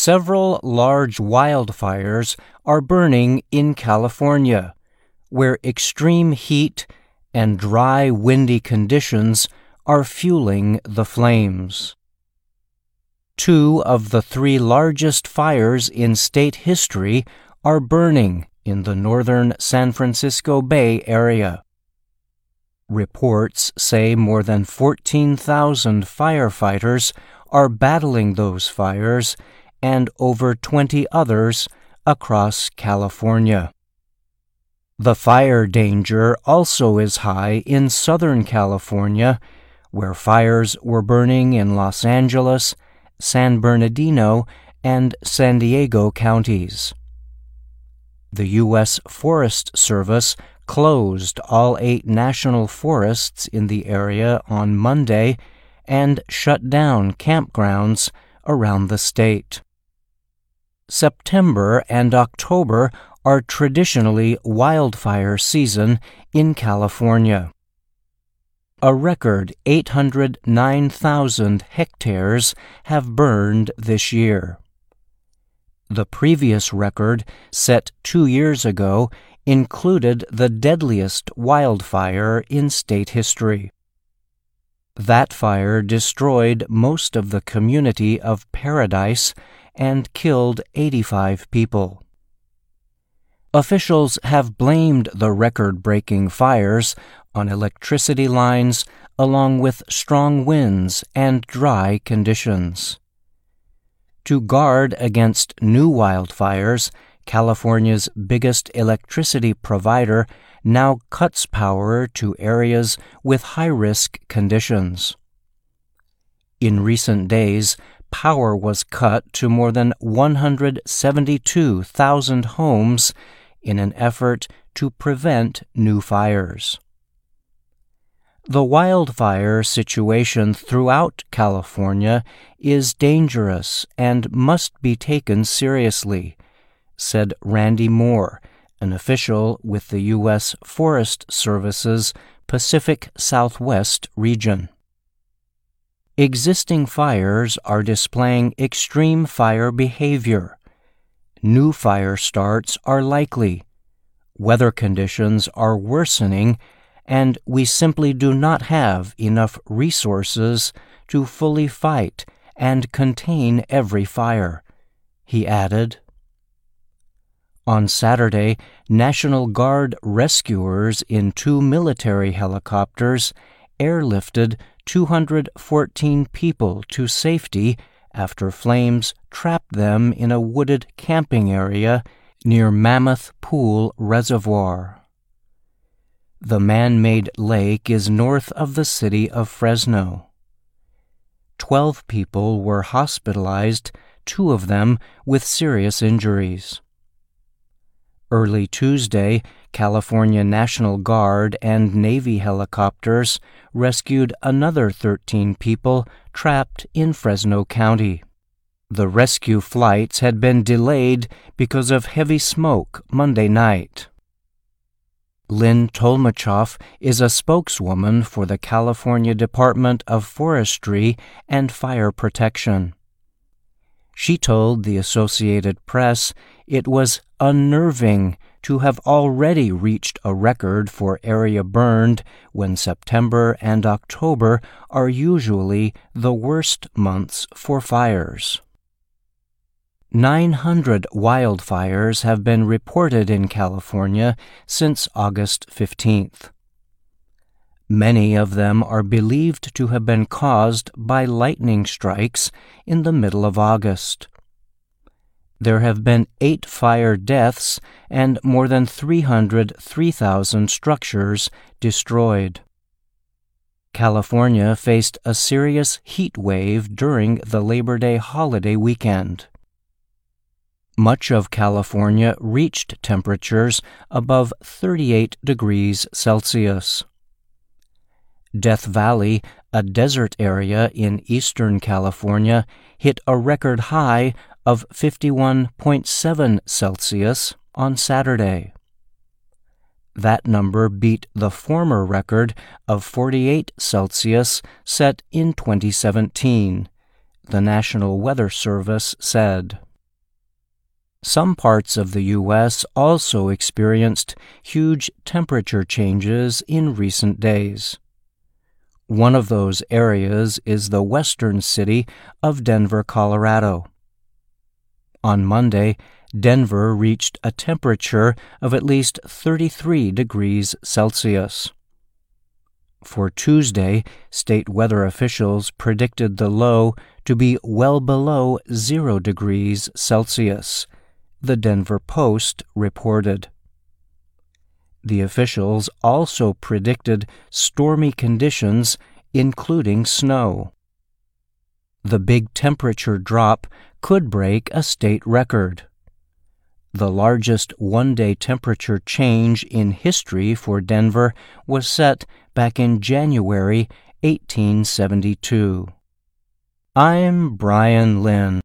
Several large wildfires are burning in California, where extreme heat and dry, windy conditions are fueling the flames. 2 of the 3 largest fires in state history are burning in the northern San Francisco Bay Area. Reports say more than 14,000 firefighters are battling those fires and over 20 others across California. The fire danger also is high in Southern California, where fires were burning in Los Angeles, San Bernardino, and San Diego counties. The U.S. Forest Service closed all 8 national forests in the area on Monday and shut down campgrounds around the state. September and October are traditionally wildfire season in California. A record 809,000 hectares have burned this year. The previous record, set 2 years ago, included the deadliest wildfire in state history. That fire destroyed most of the community of Paradise and killed 85 people. Officials have blamed the record-breaking fires on electricity lines along with strong winds and dry conditions. To guard against new wildfires, California's biggest electricity provider now cuts power to areas with high-risk conditions. In recent days, power was cut to more than 172,000 homes in an effort to prevent new fires. The wildfire situation throughout California is dangerous and must be taken seriously, said Randy Moore, an official with the U.S. Forest Service's Pacific Southwest region. Existing fires are displaying extreme fire behavior. New fire starts are likely. Weather conditions are worsening, and we simply do not have enough resources to fully fight and contain every fire, he added. On Saturday, National Guard rescuers in 2 military helicopters airlifted 214 people to safety after flames trapped them in a wooded camping area near Mammoth Pool Reservoir. The man-made lake is north of the city of Fresno. 12 people were hospitalized, 2 of them with serious injuries. Early Tuesday, California National Guard and Navy helicopters rescued another 13 people trapped in Fresno County. The rescue flights had been delayed because of heavy smoke Monday night. Lynn Tolmachoff is a spokeswoman for the California Department of Forestry and Fire Protection. She told the Associated Press it was unnerving to have already reached a record for area burned when September and October are usually the worst months for fires. 900 wildfires have been reported in California since August 15th. Many of them are believed to have been caused by lightning strikes in the middle of August. There have been 8 fire deaths and more than 303,000 structures destroyed. California faced a serious heat wave during the Labor Day holiday weekend. Much of California reached temperatures above 38 degrees Celsius. Death Valley, a desert area in eastern California, hit a record high of 51.7 Celsius on Saturday. That number beat the former record of 48 Celsius set in 2017, the National Weather Service said. Some parts of the U.S. also experienced huge temperature changes in recent days. One of those areas is the western city of Denver, Colorado. On Monday, Denver reached a temperature of at least 33 degrees Celsius. For Tuesday, state weather officials predicted the low to be well below 0 degrees Celsius, the Denver Post reported. The officials also predicted stormy conditions, including snow. The big temperature drop could break a state record. The largest one-day temperature change in history for Denver was set back in January 1872. I'm Brian Lynn.